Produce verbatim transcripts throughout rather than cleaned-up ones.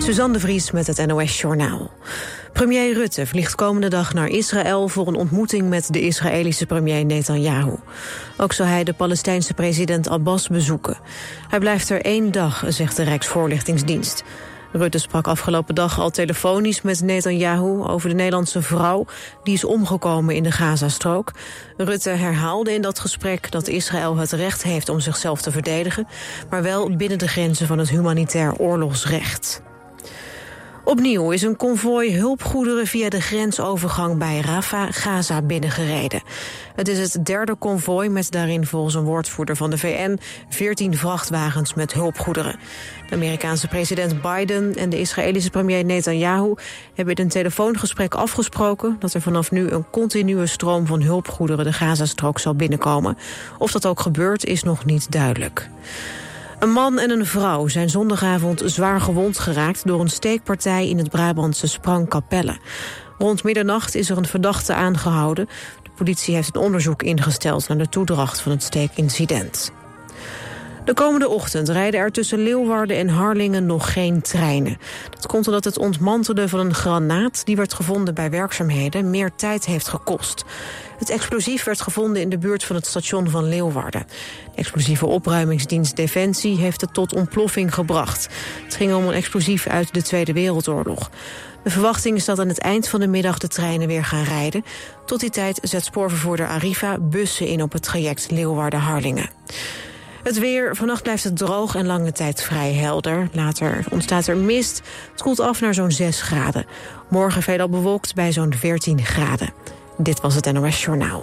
Suzanne de Vries met het N O S-journaal. Premier Rutte vliegt komende dag naar Israël voor een ontmoeting met de Israëlische premier Netanyahu. Ook zal hij de Palestijnse president Abbas bezoeken. Hij blijft er één dag, zegt de Rijksvoorlichtingsdienst. Rutte sprak afgelopen dag al telefonisch met Netanyahu over de Nederlandse vrouw die is omgekomen in de Gazastrook. Rutte herhaalde in dat gesprek dat Israël het recht heeft om zichzelf te verdedigen, maar wel binnen de grenzen van het humanitair oorlogsrecht. Opnieuw is een konvooi hulpgoederen via de grensovergang bij Rafah, Gaza, binnengereden. Het is het derde konvooi met daarin volgens een woordvoerder van de V N veertien vrachtwagens met hulpgoederen. De Amerikaanse president Biden en de Israëlische premier Netanyahu hebben in een telefoongesprek afgesproken dat er vanaf nu een continue stroom van hulpgoederen de Gazastrook zal binnenkomen. Of dat ook gebeurt is nog niet duidelijk. Een man en een vrouw zijn zondagavond zwaar gewond geraakt door een steekpartij in het Brabantse Sprangkapelle. Rond middernacht is er een verdachte aangehouden. De politie heeft een onderzoek ingesteld naar de toedracht van het steekincident. De komende ochtend rijden er tussen Leeuwarden en Harlingen nog geen treinen. Dat komt omdat het ontmantelen van een granaat die werd gevonden bij werkzaamheden meer tijd heeft gekost. Het explosief werd gevonden in de buurt van het station van Leeuwarden. De explosieve opruimingsdienst Defensie heeft het tot ontploffing gebracht. Het ging om een explosief uit de Tweede Wereldoorlog. De verwachting is dat aan het eind van de middag de treinen weer gaan rijden. Tot die tijd zet spoorvervoerder Arriva bussen in op het traject Leeuwarden-Harlingen. Het weer, vannacht blijft het droog en lange tijd vrij helder. Later ontstaat er mist. Het koelt af naar zo'n zes graden. Morgen veelal bewolkt bij zo'n veertien graden. Dit was het N O S-journaal.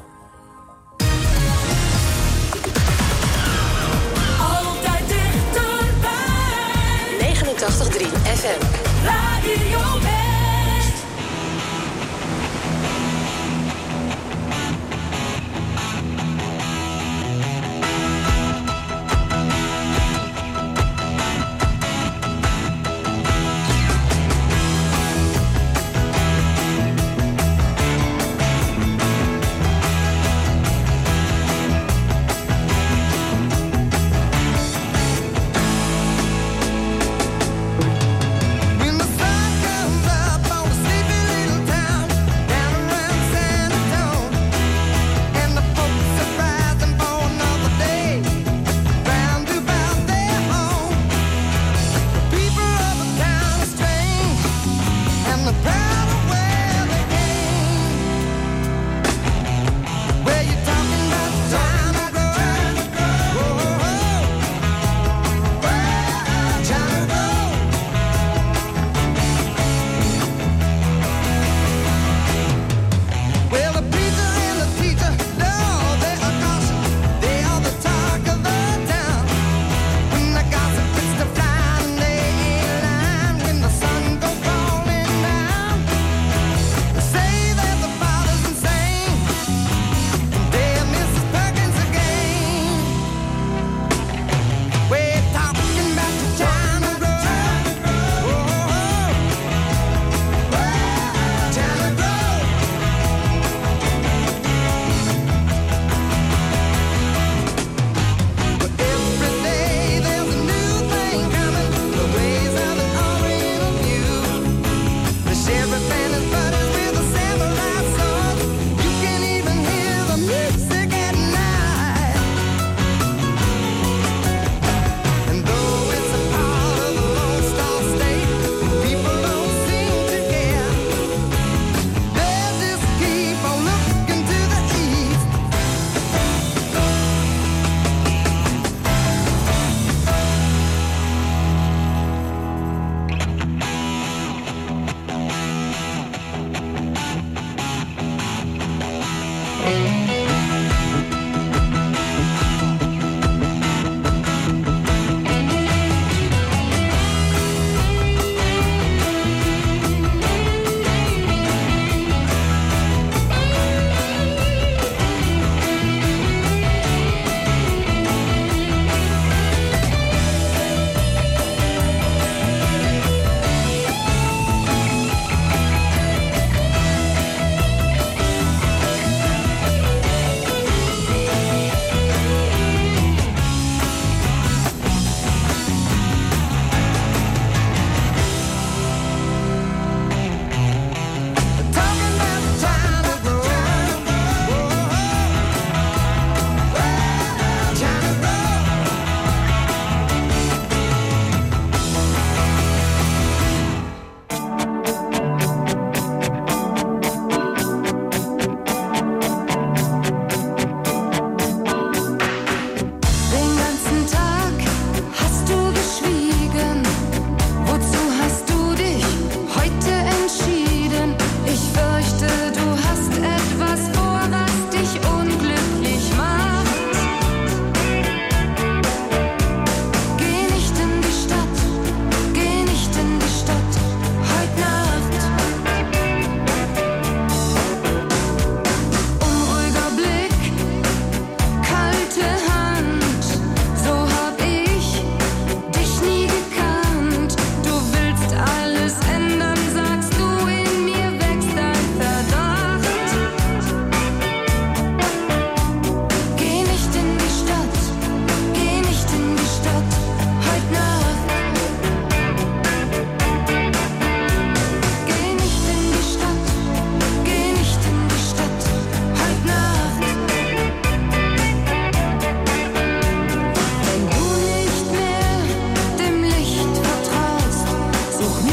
Altijd dichterbij. negenentachtig komma drie F M. Radio West. When the sun comes up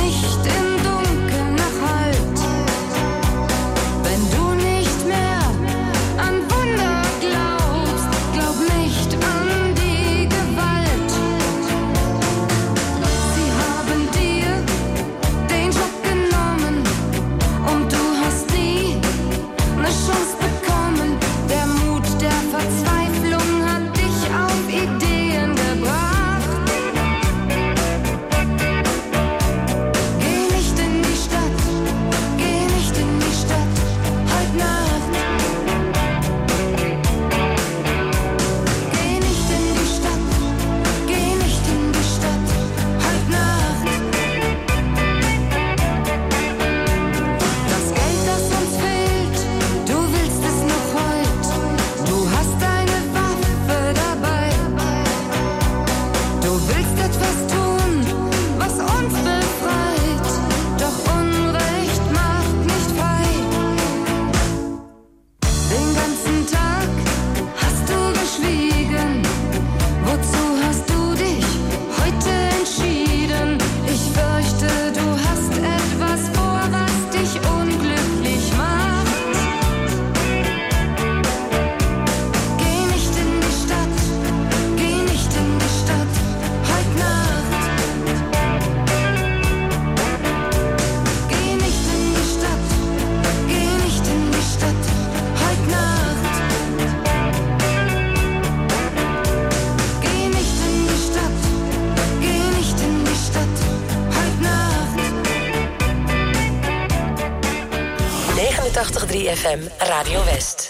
negenentachtig komma drie F M, Radio West.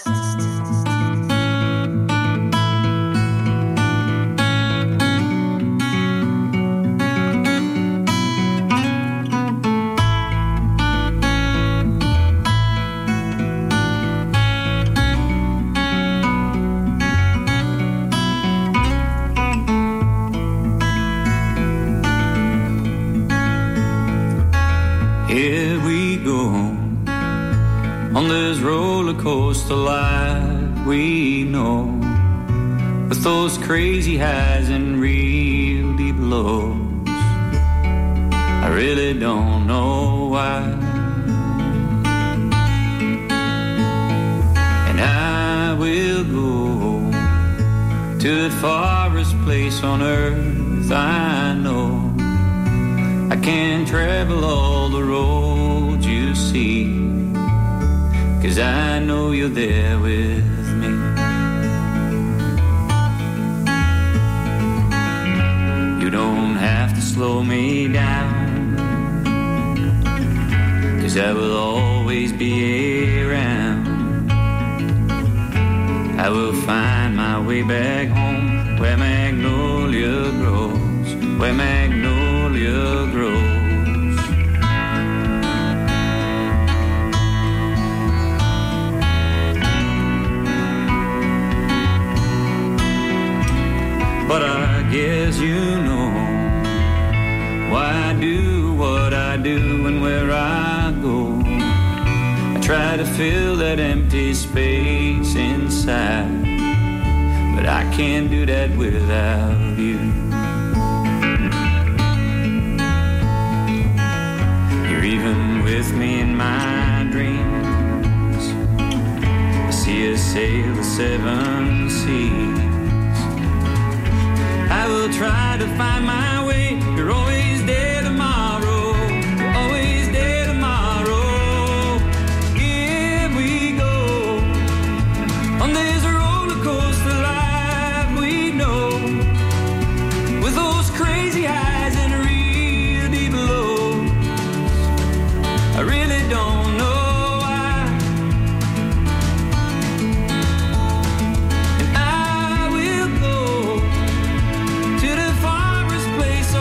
Here we go on this roller coaster life we know, with those crazy highs and real deep lows. I really don't know why, and I will go to the farthest place on earth I know. I can't travel all the roads you see, 'cause I know you're there with me. You don't have to slow me down, 'cause I will always be around. I will find my way back home, where magnolia grows, where magnolia grows. But I guess you know why I do what I do and where I go. I try to fill that empty space inside, but I can't do that without you. You're even with me in my dreams. I see us sail the seven seas. I will try to find my way. You're always there tomorrow. You're always there tomorrow. Here we go on this roller coaster life we know, with those crazy highs and real deep lows. I really don't know why, and I will go to the farthest place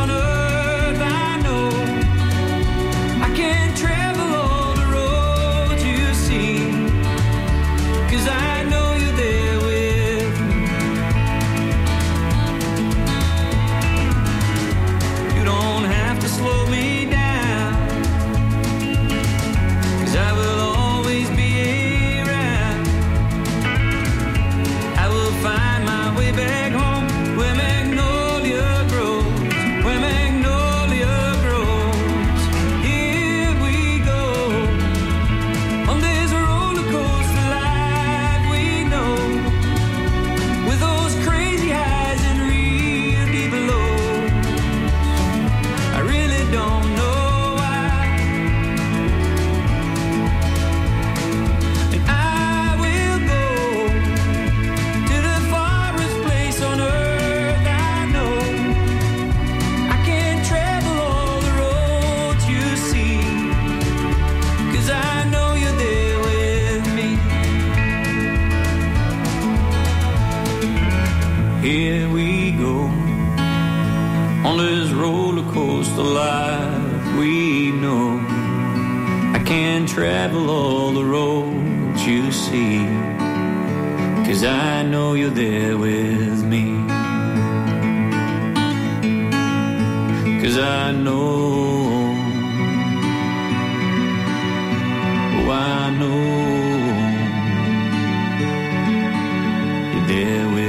we know. I can't travel all the roads you see, 'cause I know you're there with me. 'Cause I know, oh I know you're there with me.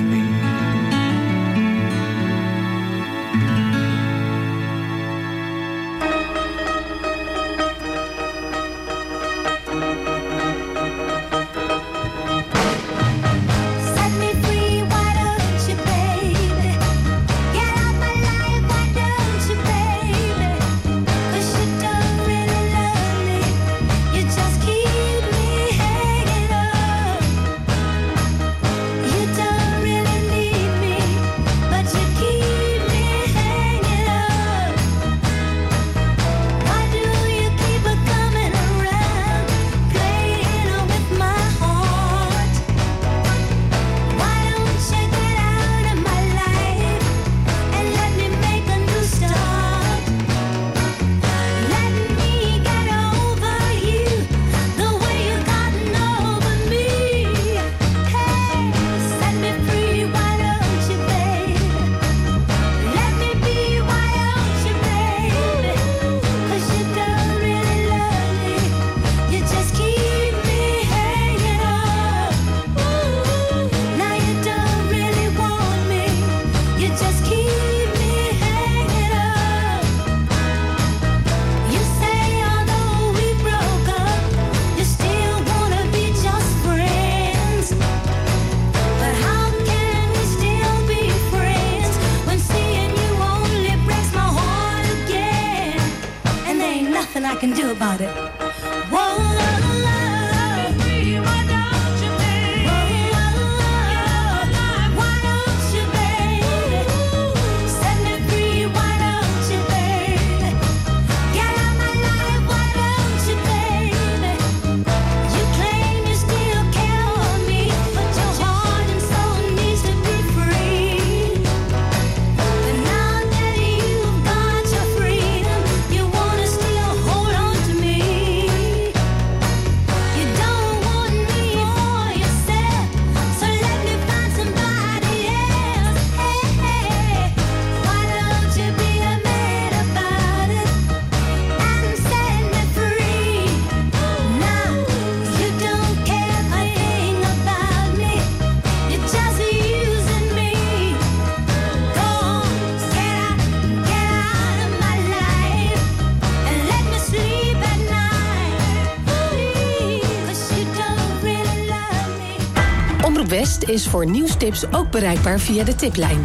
West is voor nieuwstips ook bereikbaar via de tiplijn.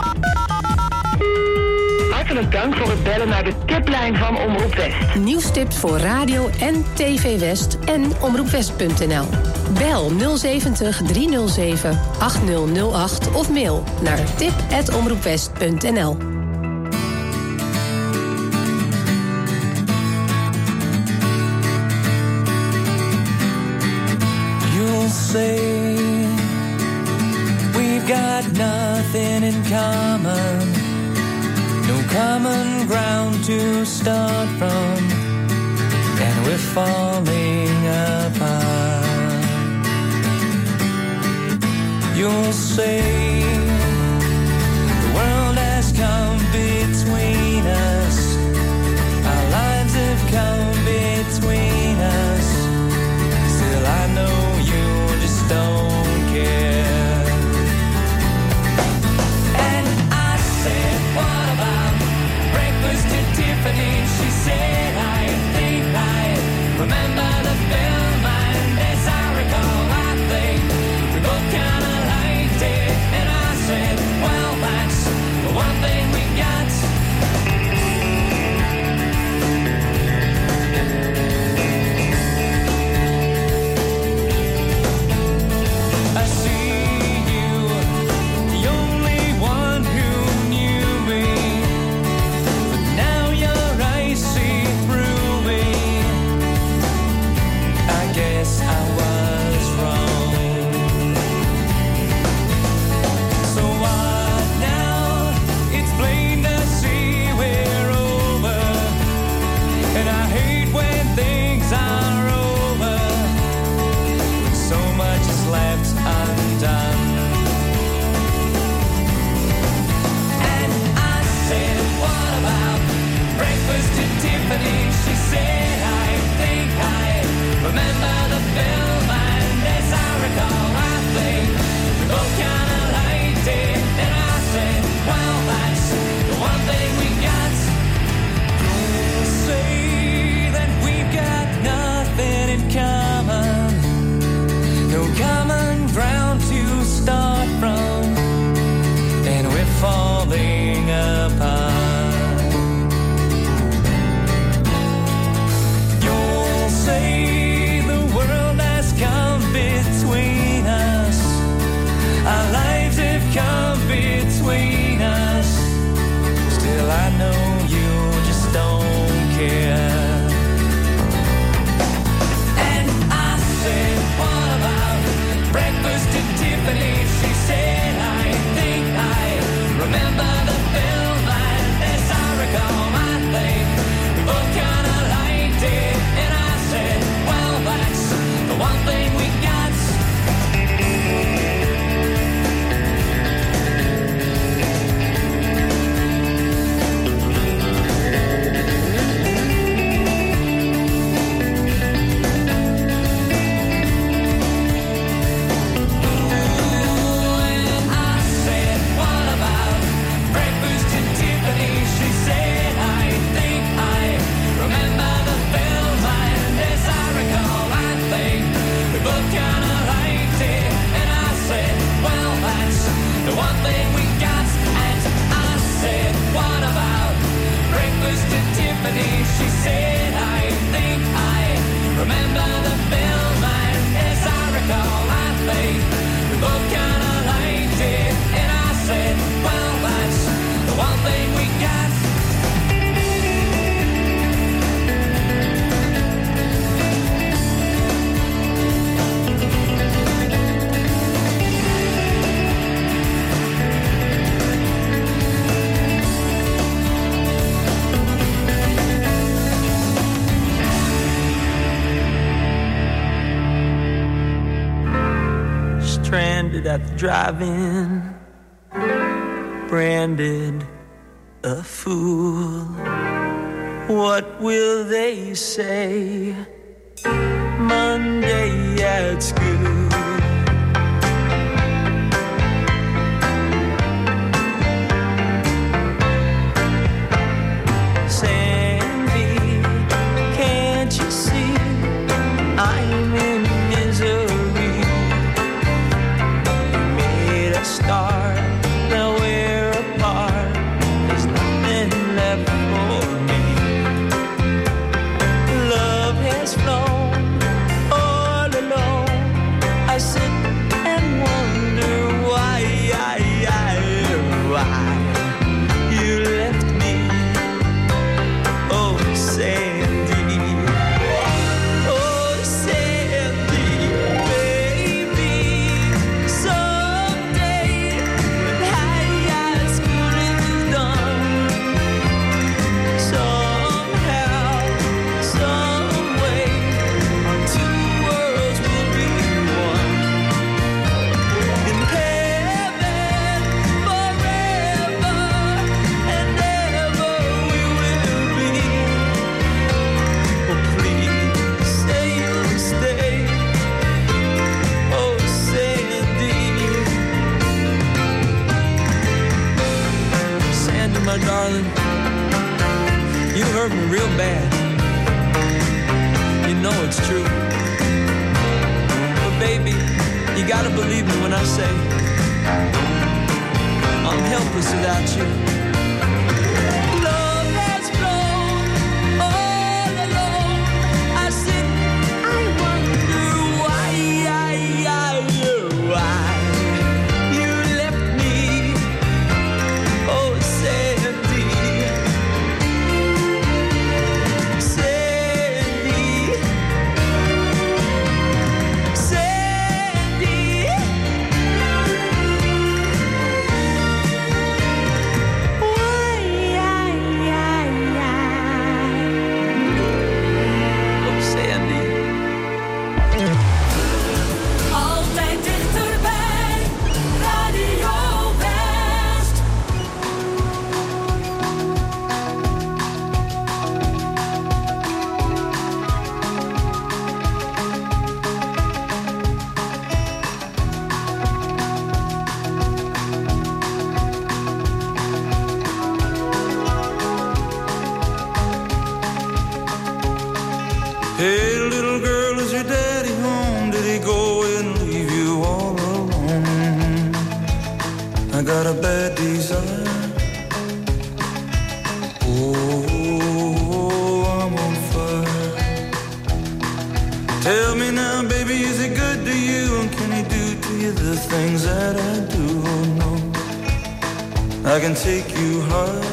Hartelijk dank voor het bellen naar de tiplijn van Omroep West. Nieuwstips voor radio en tv West en omroepwest punt n l. Bel nul zeventig driehonderdzeven achtzig acht of mail naar tip at omroepwest punt n l. You'll say we've got nothing in common, no common ground to start from, and we're falling apart. You'll say the world has come between us, our lives have come between us, still I know you just don't care. And I said, what about breakfast at Tiffany's? She said, I think I remember the film, and as I recall, I think we both kinda liked it. she said, I think I remember the film, and as I recall, I think we both kind of liked it. And I said, well, that's the one thing we got. Stranded at the drive-in, branded a fool. What will they say Monday at school? Sandy, can't you see I'm in misery? Start, now we're apart. There's nothing left for me. Love has flown all alone. I sit and wonder why, why you left me. Oh, Sandy, oh, Sandy, baby, so. My darling, you hurt me real bad. You know it's true. But baby, you gotta believe me when I say I'm helpless without you. Love has flown all alone. I sit, I wonder why, why you left me. Oh, say hey, little girl, is your daddy home? Did he go and leave you all alone? I got a bad desire. Oh, I'm on fire. Tell me now, baby, is he good to you? And can he do to you the things that I do? Oh, no, I can take you high.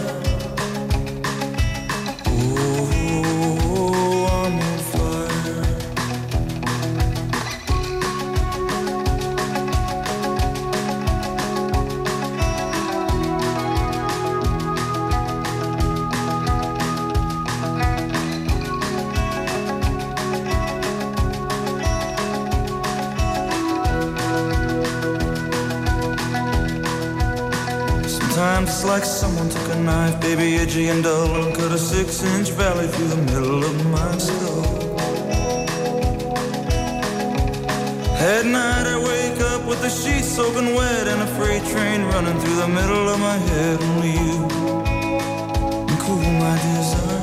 It's like someone took a knife, baby, edgy and dull, and cut a six-inch valley through the middle of my skull. At night I wake up with the sheets soaking wet and a freight train running through the middle of my head. Only you can cool my desire.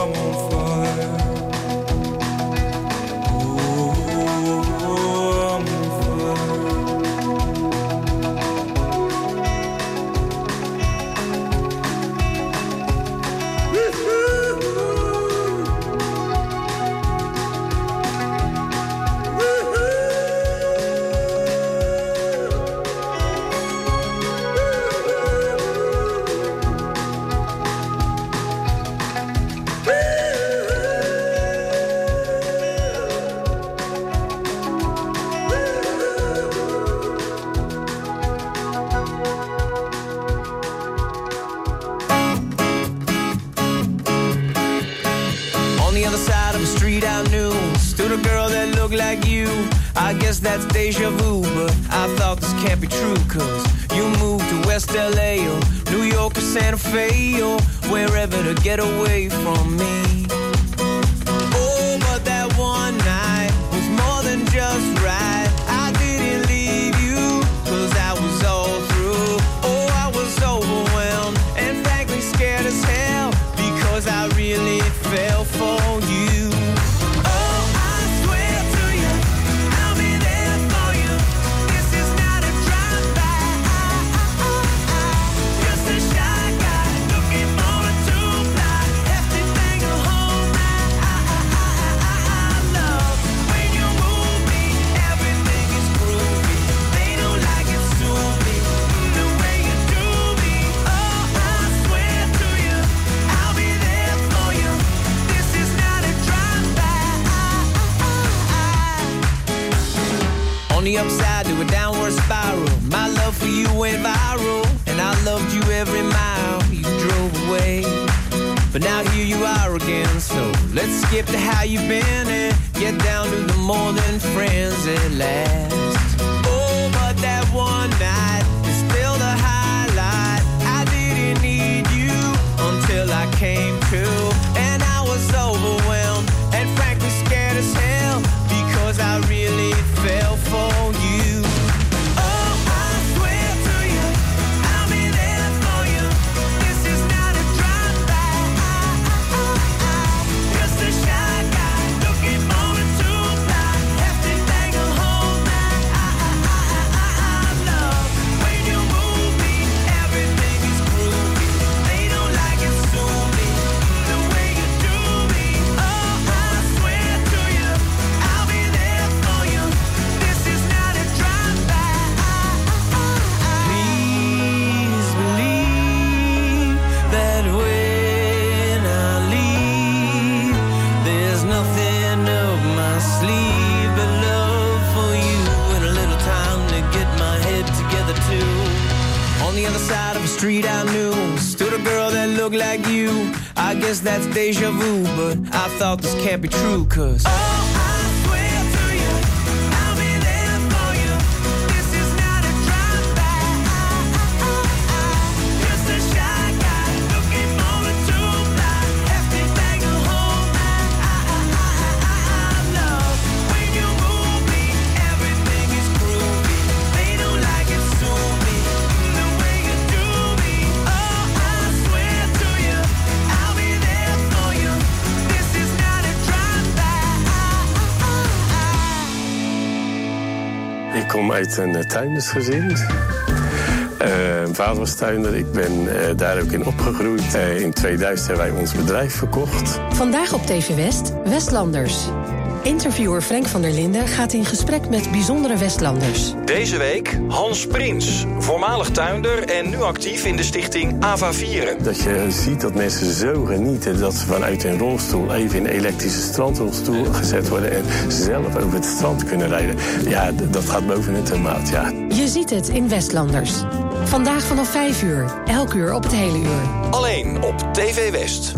I'm like you. I guess that's deja vu, but I thought this can't be true, cause you moved to West L A or New York or Santa Fe or wherever to get away from me. Oh, but that one night was more than just right. I didn't leave you, cause I was all through. Oh, I was overwhelmed and frankly scared as hell, because I really fell for you. On the upside to a downward spiral, my love for you went viral, and I loved you every mile you drove away. But now here you are again, so let's skip to how you've been and get down to the more than friends at last. Oh, but that one night is still the highlight. I didn't need you until I came to, and I was overwhelmed and frankly scared as hell, because I really fell for you. Oh, I swear to you, I'll be there for you. This is not a drive-by. Just a shy guy looking for a two-ply. Hefty thing to hold my love. When you move me, everything is groovy. They don't like it, sue me the way you do me. Oh, I swear to you, I'll be there for you. This is not a drive-by. Please believe that when I leave, there's nothing up my sleeve but love for you and a little time to get my head together too. On the other side of the street I knew stood a girl that looked like you. I guess that's deja vu, but I thought this can't be true, cause oh, I swear to you, I'll be there for you. This is not a drive-by. Just a shy guy looking for a two-ply. Hefty thing to hold my love. When you move me, everything is groovy. They don't like it, sue me the way you do me. Oh, I swear to you, I'll be there for you. This is not a drive-by. Ik kom uit een uh, tuindersgezin. Uh, mijn vader was tuinder, ik ben uh, daar ook in opgegroeid. Uh, in tweeduizend hebben wij ons bedrijf verkocht. Vandaag op T V West, Westlanders. Interviewer Frank van der Linden gaat in gesprek met bijzondere Westlanders. Deze week Hans Prins, voormalig tuinder en nu actief in de stichting Ava Vieren. Dat je ziet dat mensen zo genieten dat ze vanuit een rolstoel even in een elektrische strandrolstoel gezet worden en zelf over het strand kunnen rijden. Ja, d- dat gaat boven het tomaat, ja. Je ziet het in Westlanders. Vandaag vanaf vijf uur, elk uur op het hele uur. Alleen op T V West.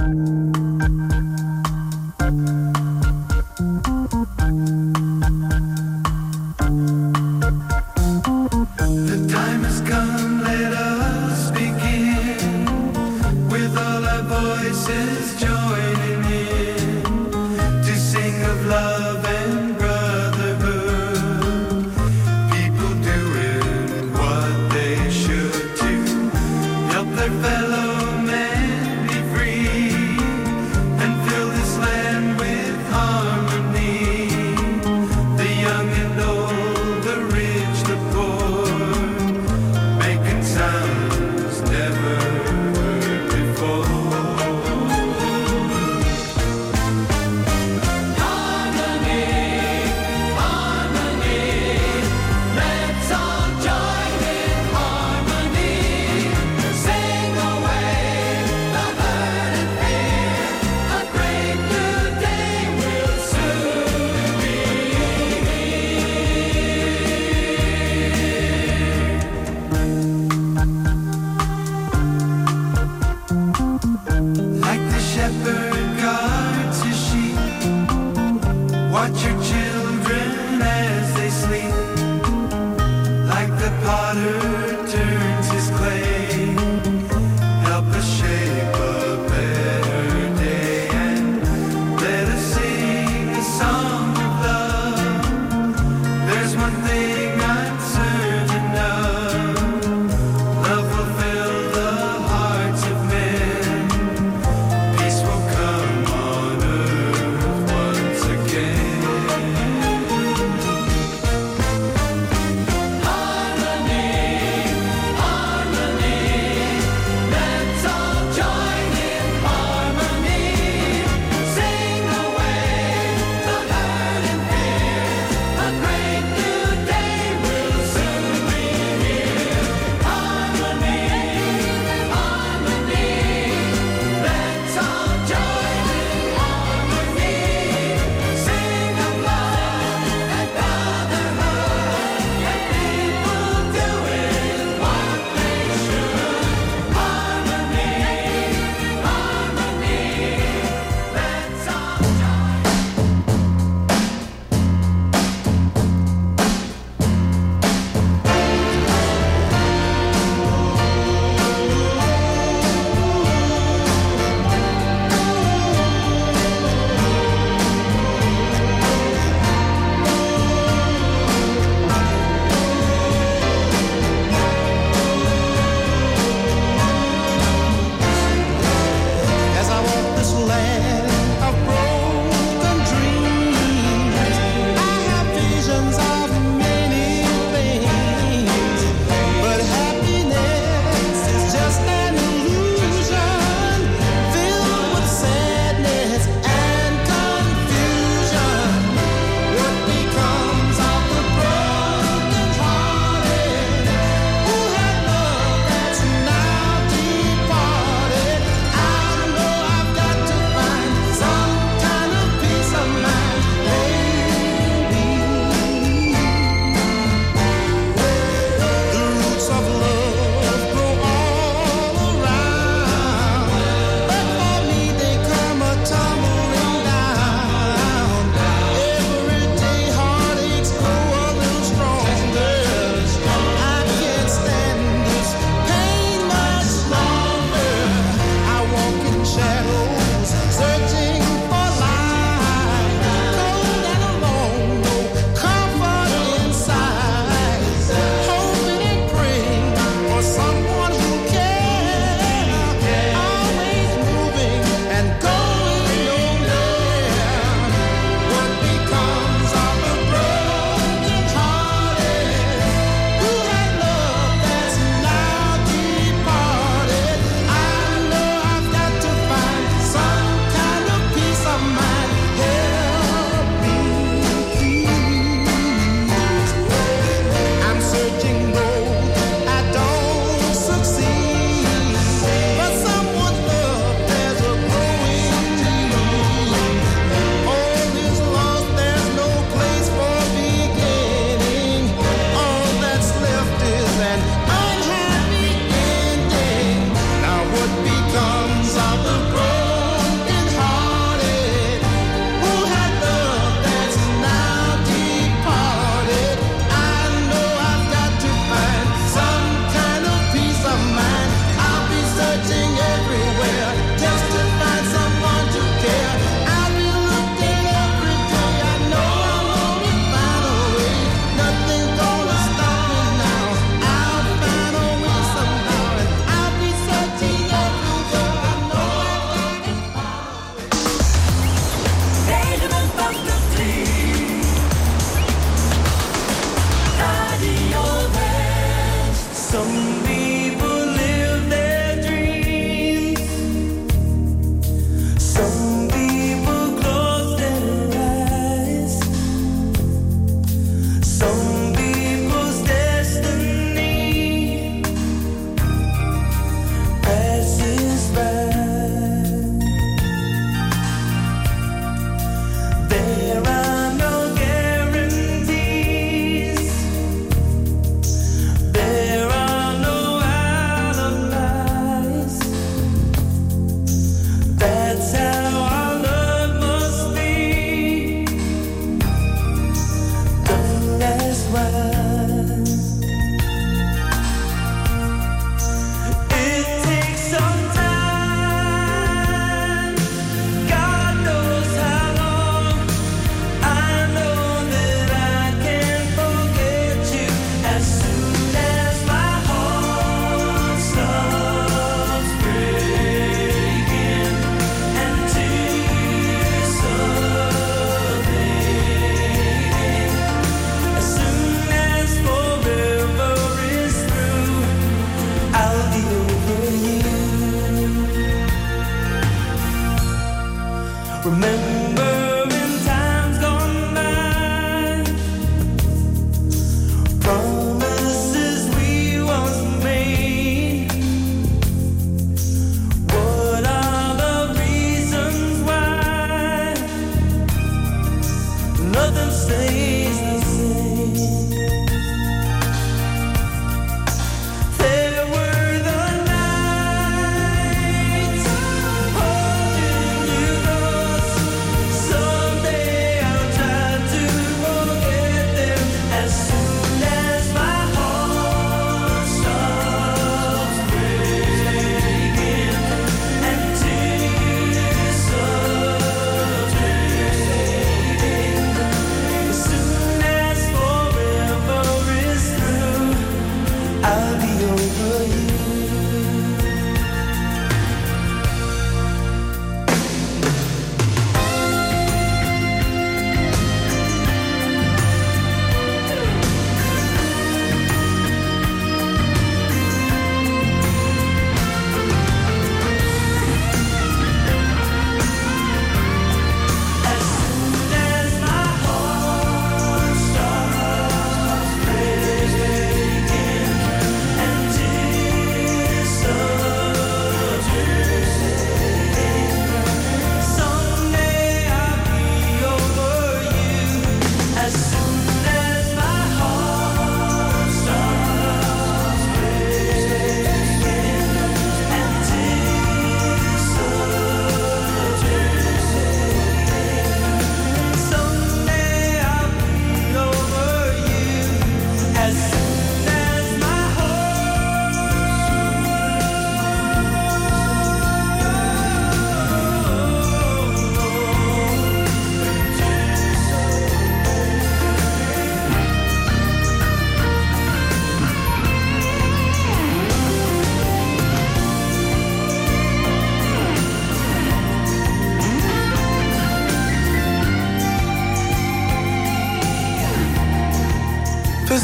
The time has come, let us begin, with all our voices joining in, to sing of love and brotherhood. People doing what they should do, help their fellow men be free. potter turns his clay, help us shape a better day, and let us sing a song of love. There's one thing I'm certain of, love will fill the hearts of men, peace will come on earth once again. Harmony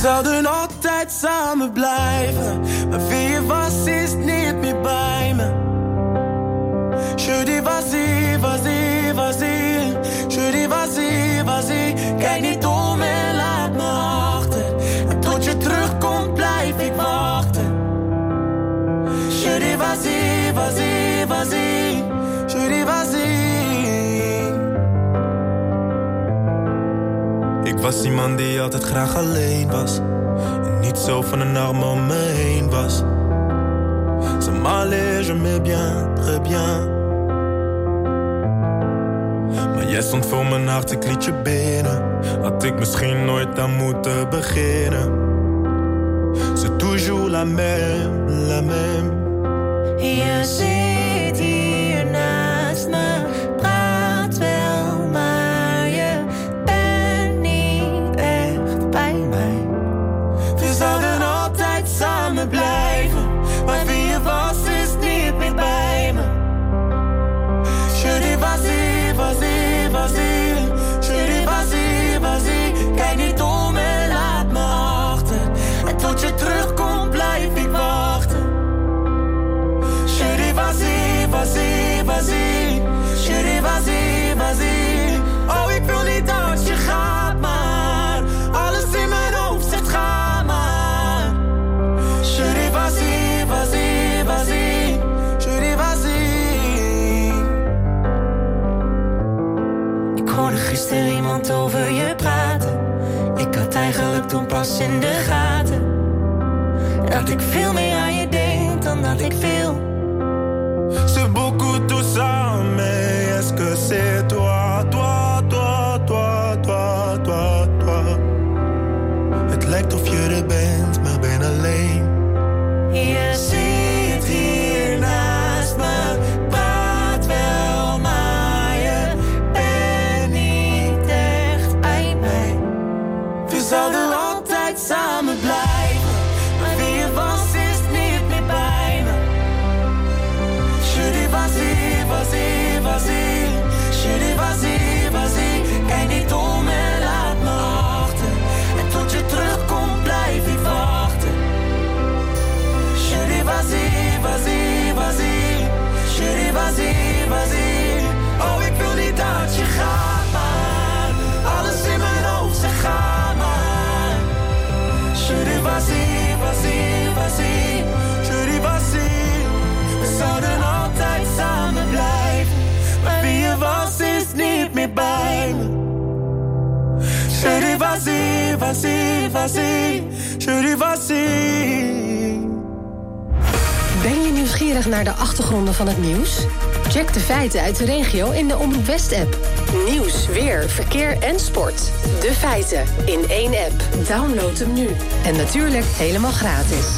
zouden altijd samen blijven, maar wie je was is niet meer bij me. Je dis vas-y, vas-y, vas-y. Je dis vas-y, vas-y. Kijk niet om en laat me achter. En tot je terugkomt blijf ik wachten. Je dis vas-y, vas-y, vas-y. Je dis vas-y. Ik was iemand die altijd graag alleen was. En niet zo van een arm om me heen was. Ça m'allait, je m'aimais bien, très bien. Maar jij stond voor mijn hart, ik liet je binnen. Had ik misschien nooit aan moeten beginnen. C'est toujours la même, la même. Je zit hier naast me, praat wel, maar je bent niet echt bij mij. We zouden altijd samen blijven, maar wie je was is niet meer bij me. Je dis vas-y, vas-y, vas-y. Je dis vas-y, vas-y. Kijk niet om en laat me achter. En tot je terugkomt blijf ik wachten. Je dis vas-y, vas-y, vas-y. Je dis vas-y, vas-y. Oh, ik wil niet dat je gaat, maar alles in mijn hoofd zegt ga maar. Je dis vas-y, vas-y, vas-y. Je dis vas-y. Ik hoorde gisteren iemand over je praten. Ik had eigenlijk toen pas in de gaten dat ik veel meer aan je denk dan dat ik wil. C'est beaucoup tout ça, mais est-ce que c'est toi, toi, toi, toi, toi, toi, toi? Het lijkt of je er bent, maar ben alleen. Je zit hier naast me, praat wel, maar je bent niet echt bij mij. We zouden altijd samen blijven, maar wie je was is niet meer bij me. Je dis vas-y, vas-y, vas-y. Je dis vas-y, vas-y. Kijk niet om en laat me achter. En tot je terugkomt blijf ik wachten. Je dis vas-y, vas-y, vas-y. Je dis vas-y, vas-y. Oh, ik wil niet dat je gaat, maar alles in mijn hoofd zegt ga maar. Je dis vas-y, vas-y, vas-y. Je dis vas-y. We zouden altijd samen blijven, maar wie je was is niet meer bij me. Je dis vas-y, vas-y, vas-y. Je dis vas-y. Ben je nieuwsgierig naar de achtergronden van het nieuws? Check de feiten uit de regio in de Omroep West-app. Nieuws, weer, verkeer en sport. De feiten in één app. Download hem nu. En natuurlijk helemaal gratis.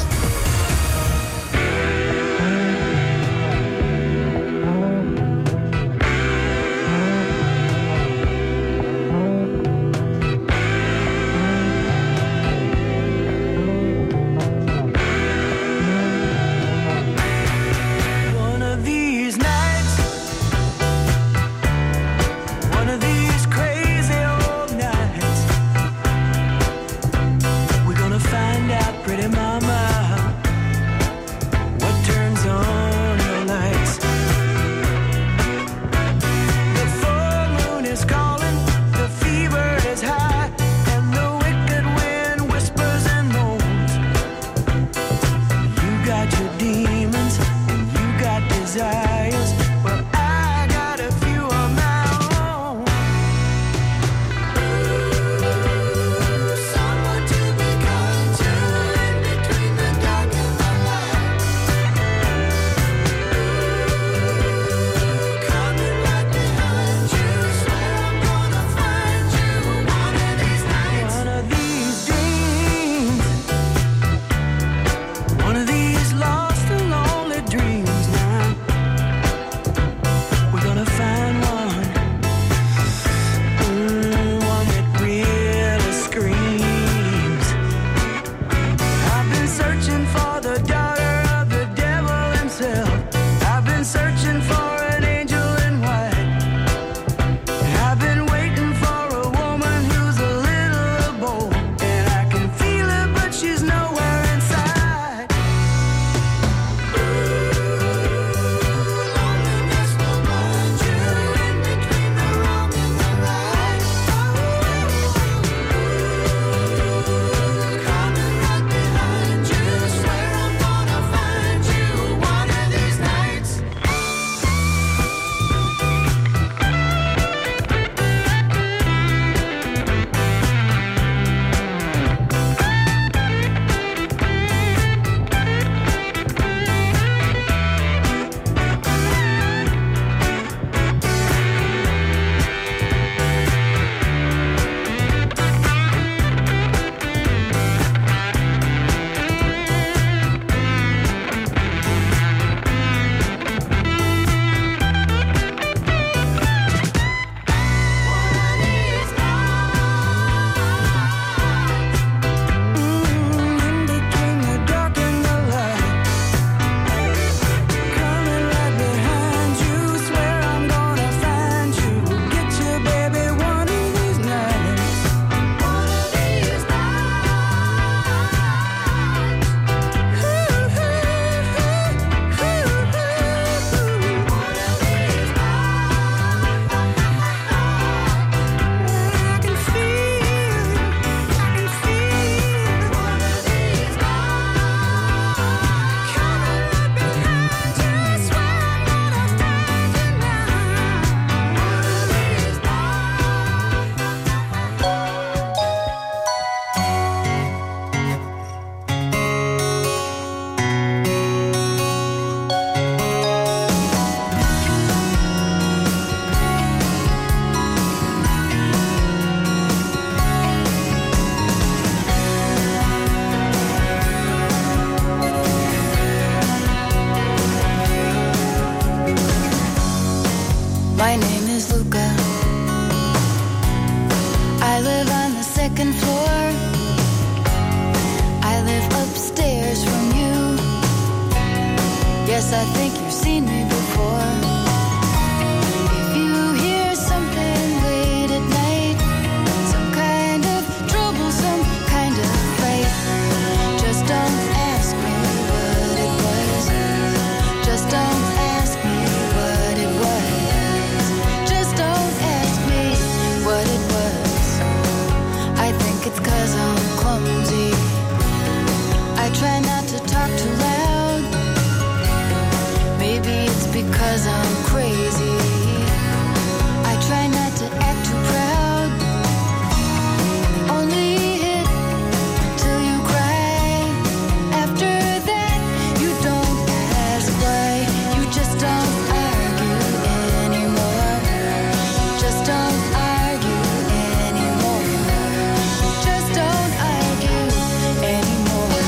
Yes, I think you've seen me before. If you hear something late at night, some kind of trouble, some kind of fight, just don't ask me what it was. Just don't ask me what it was. Just don't ask me what it was. I think it's 'cause I'm clumsy. I try not to talk too loud. Maybe it's because I'm crazy. I try not to act too proud. Only hit till you cry. After that, you don't ask why. You just don't argue anymore. Just don't argue anymore. Just don't argue anymore.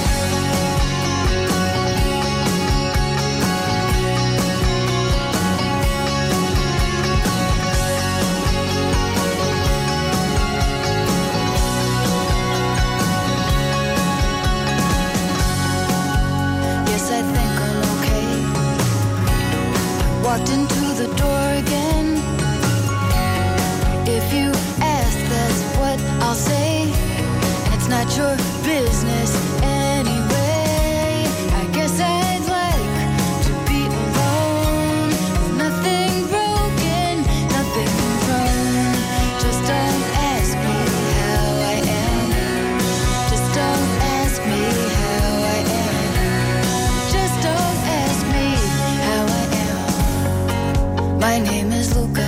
Yes, I think I'm okay. Walked into the door again. If you ask, that's what I'll say. And it's not your business anyway. I guess I'd like to be alone. With nothing broken, nothing wrong. Just don't ask me how I am. Just don't ask me how I am. Just don't ask me how I am. My name is Luca.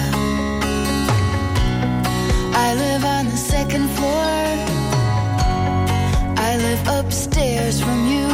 I live on the second floor. I live upstairs from you.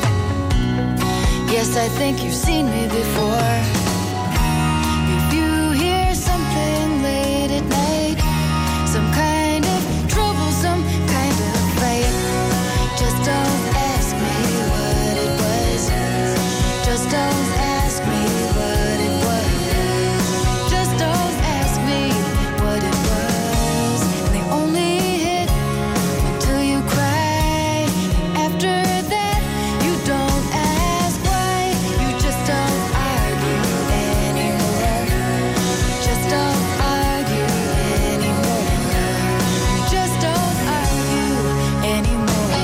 Yes, I think you've seen me before. If you hear something late at night, some kind of trouble, some kind of fight, just don't ask me what it was. Just don't ask me what it was. Just don't ask me what it was. And they only hit until you cry. After that, you don't ask why. You just don't argue anymore. Just don't argue anymore. Just don't argue anymore.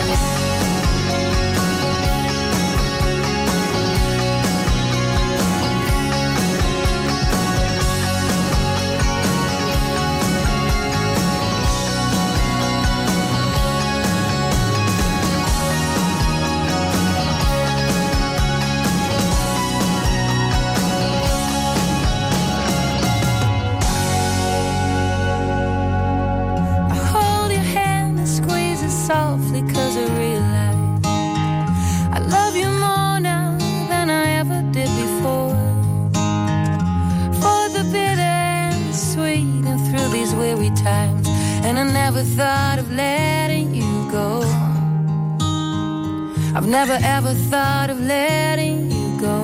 I hold your hand and squeeze it softly 'cause I realize I love you more now than I ever did before. For the bitter and the sweet and through these weary times, and I never thought of letting you go. I've never ever thought of letting you go.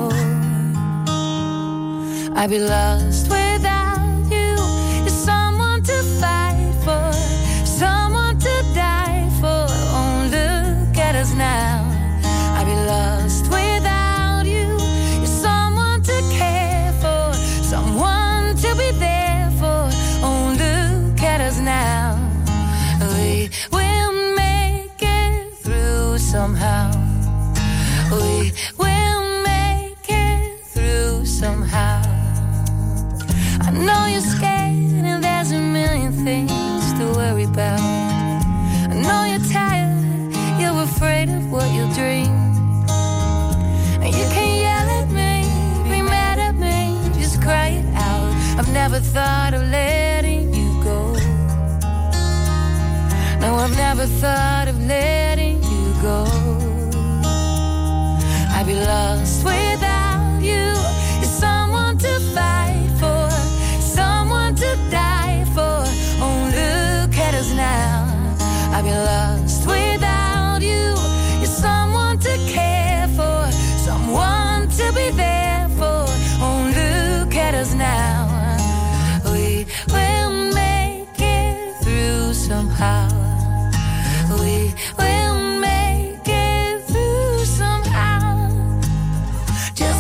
I'd be lost without you. You're someone to fight for, someone to die for. Oh, look at us now. I'd be lost without you. You're someone to care for, someone to be there for. Oh, look at us now. We will make it through somehow. We will make it through somehow. I know you're scared and there's a million things to worry about. I know you're tired, you're afraid of what you'll dream. And you can yell at me, be mad at me, just cry it out. I've never thought of letting you go. No, I've never thought of letting you go. I'd be lost without you. You're someone to fight for, someone to die for. Oh, look at us now. I'd be lost without you. You're someone to care for, someone to be there for. Oh, look at us now. We will make it through somehow. We will make it through somehow. Just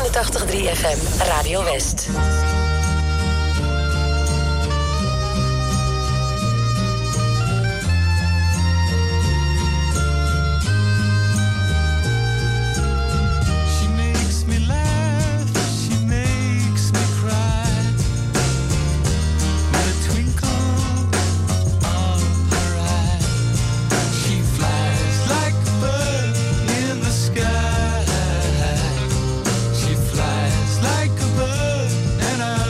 eenentachtig komma drie F M, Radio West. Like a bird and I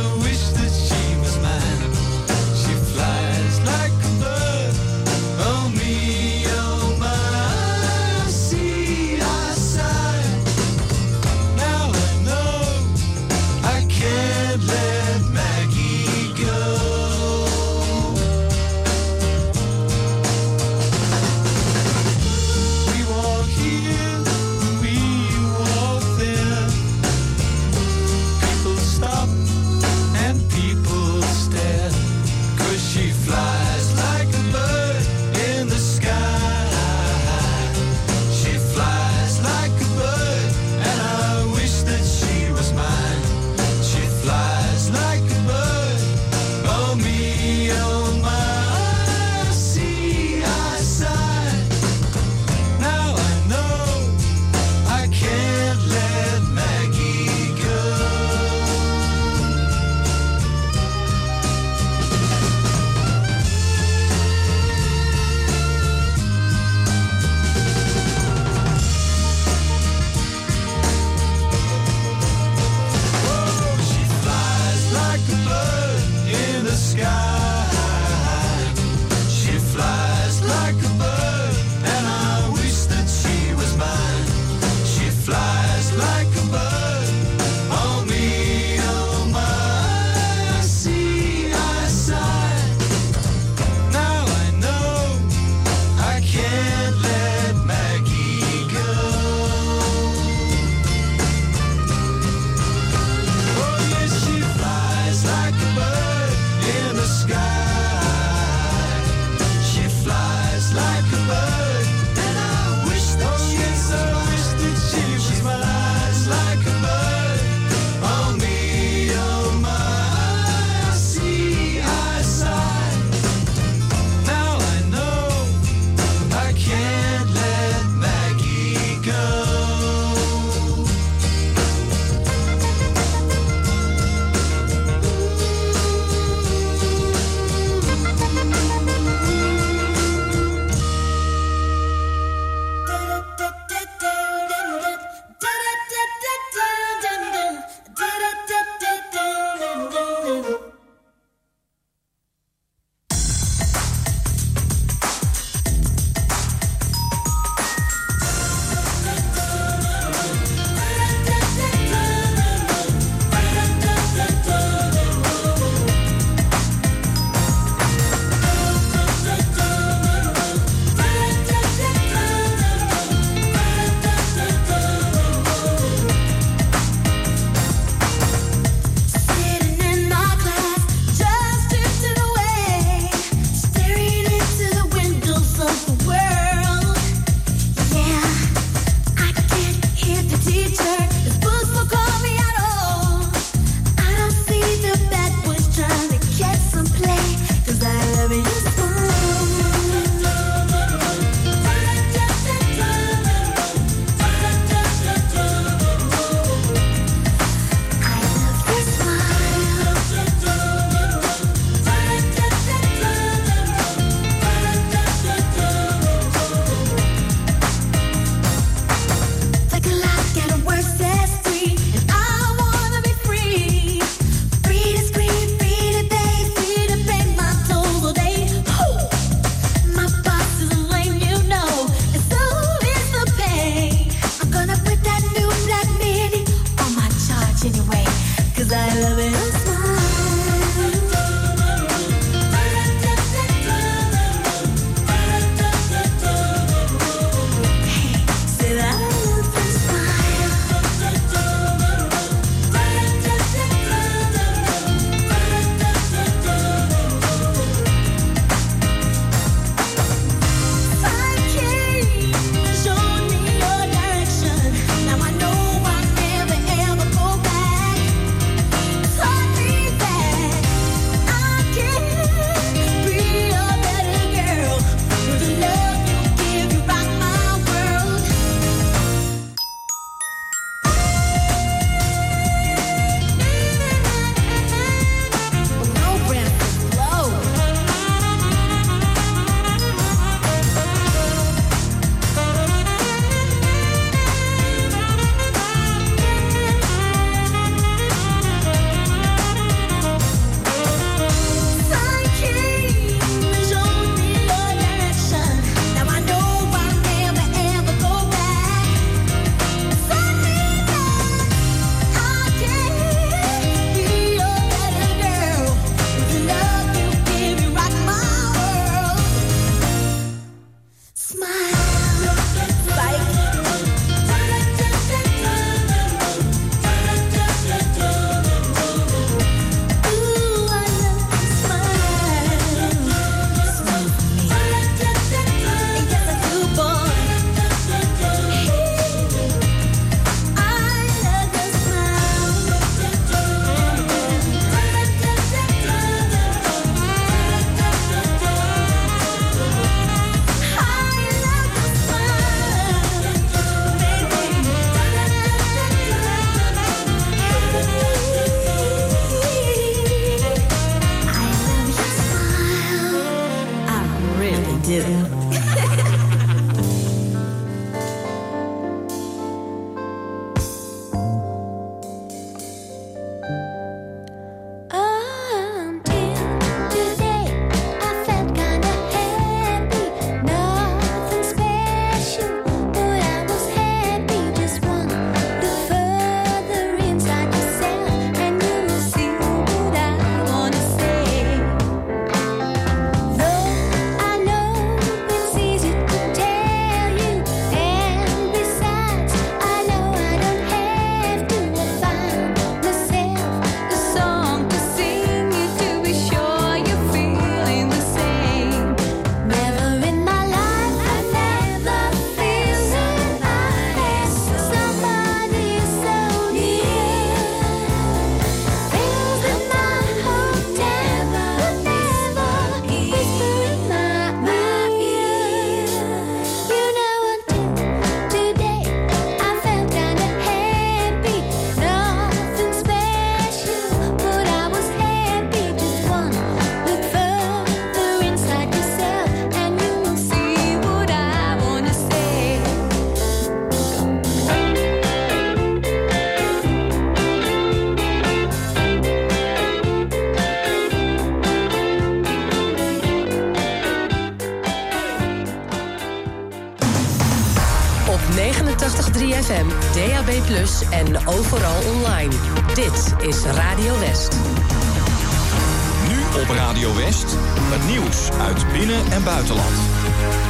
eenentachtig komma drie F M, D A B plus, en overal online. Dit is Radio West. Nu op Radio West, het nieuws uit binnen- en buitenland.